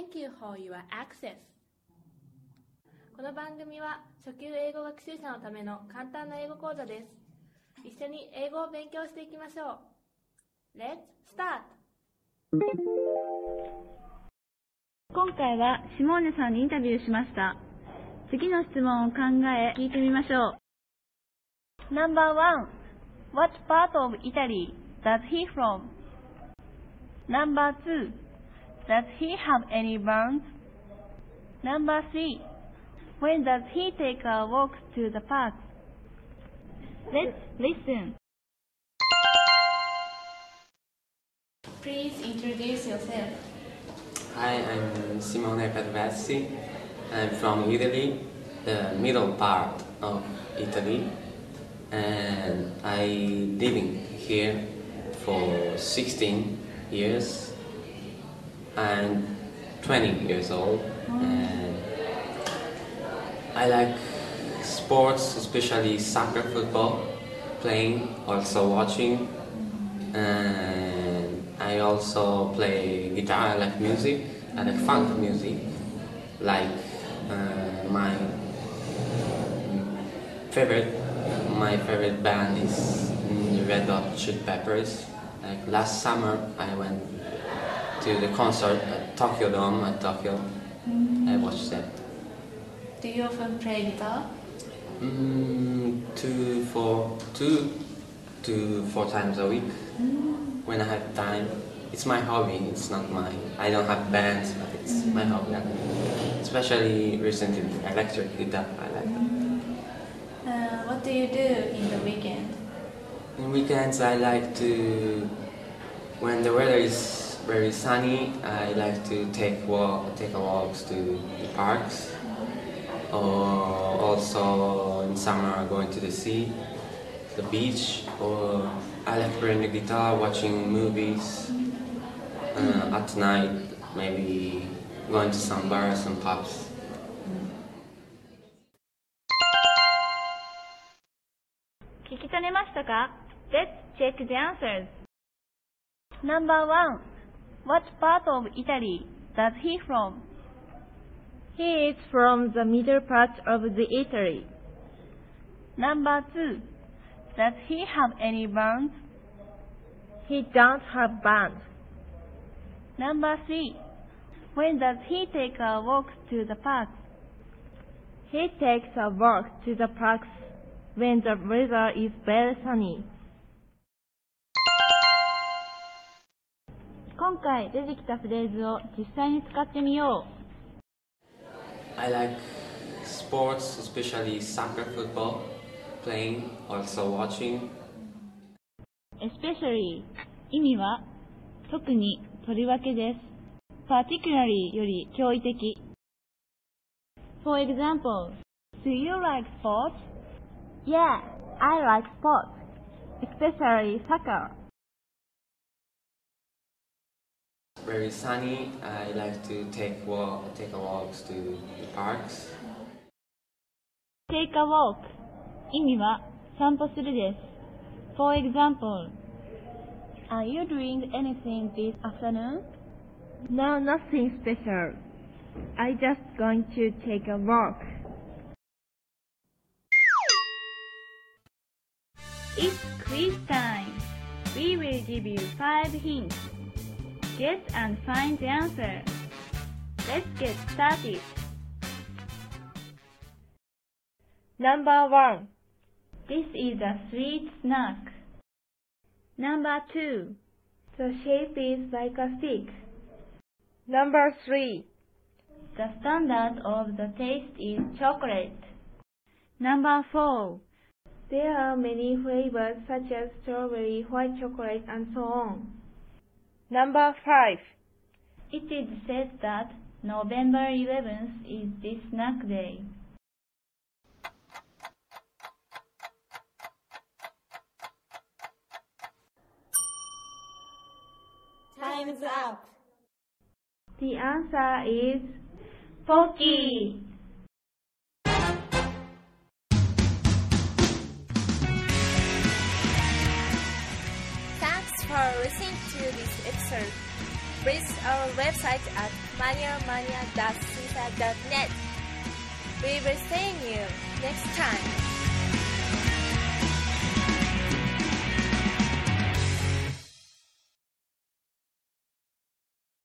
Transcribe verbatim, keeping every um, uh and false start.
Thank you for your access. この番組は初級英語学習者のための簡単な英語講座です。一緒に英語を勉強していきましょう。Let's start! 今回はシモーネさんにインタビューしました。次の質問を考え聞いてみましょう。ナンバーワン What part of Italy does he from? ナンバーツー Does he have any burns? ナンバースリー When does he take a walk to the park? Let's listen. Please introduce yourself. Hi, I'm Simone Perversi. I'm from Italy, the middle part of Italy, and I'm living here for sixteen years. I'm twenty years old, and I like sports, especially soccer, football, playing, also watching, and I also play guitar. I like music. I like funk music, like uh, my favorite. My favorite band is the Red Hot Chili Peppers. Like last summer, I went to the concert at Tokyo Dome at Tokyo. I watched that. Do you often play guitar? Mm, two, four, two to four times a week when I have time. It's my hobby. It's not my. I don't have bands, but it's my hobby. Especially recently, electric guitar. I like it. Uh, what do you do in the weekend? In weekends, I like to. When the weather is very sunny, I like to take walk, take a walks to the parks. Or also in summer, going to the sea, the beach. Or I like playing the guitar, watching movies. Uh, at night, maybe going to some bars and pubs. 聞き取れましたか？ Let's check the answers. Number one. What part of Italy does he from? He is from the middle part of the Italy. Number two. Does he have any burns? He don't have burns. Number three. When does he take a walk to the park? He takes a walk to the parks when the weather is very sunny. 今回出てきたフレーズを実際に使ってみよう。 I like sports, especially soccer, football, playing, also watching. Especially 意味は特にとりわけです。particularly より驚異的。For example, do you like sports? Yeah, I like sports, especially soccer. Very sunny. I like to take walk, take a walks to the parks. Take a walk 意味は散歩するです。For example, are you doing anything this afternoon? No, nothing special. I just going to take a walk. It's quiz time. We will give you five hints. Guess and find the answer. Let's get started. Number one. This is a sweet snack. Number two. The shape is like a stick. Number three. The standard of the taste is chocolate. Number four. There are many flavors such as strawberry, white chocolate, and so on. Number five. It is said that November eleventh is this snack day. Time's up. The answer is Pocky. Thanks for listening to this episode. visit our website at mania mania dash seaside dot net. We will see you next time.